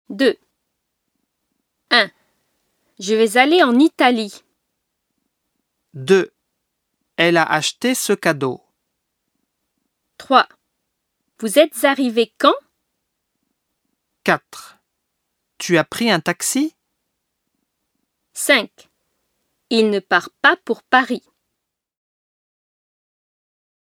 2. 1. Je vais aller en Italie. 2. Elle a acheté ce cadeau. 3. Vous êtes arrivé quand? 4. Tu as pris un taxi? 5. Il ne part pas pour Paris.